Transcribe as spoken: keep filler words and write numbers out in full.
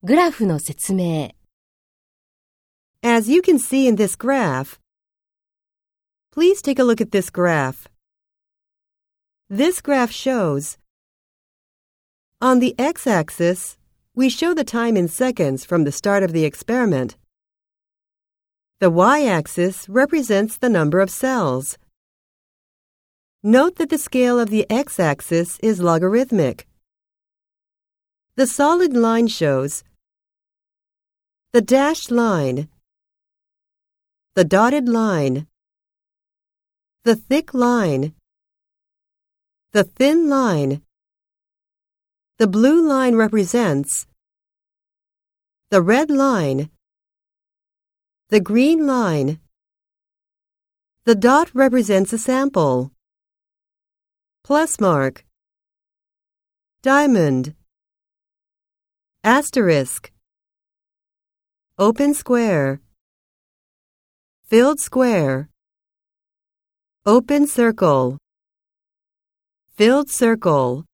グラフの説明。 As you can see in this graph, please take a look at this graph. This graph shows, on the x-axis, we show the time in seconds from the start of the experiment. The y-axis represents the number of cells. Note that the scale of the x-axis is logarithmic. The solid line shows the dashed line, the dotted line, the thick line, the thin line. The blue line represents the red line, the green line. The dot represents a sample. Plus mark, diamond, asterisk, open square, filled square, open circle, filled circle.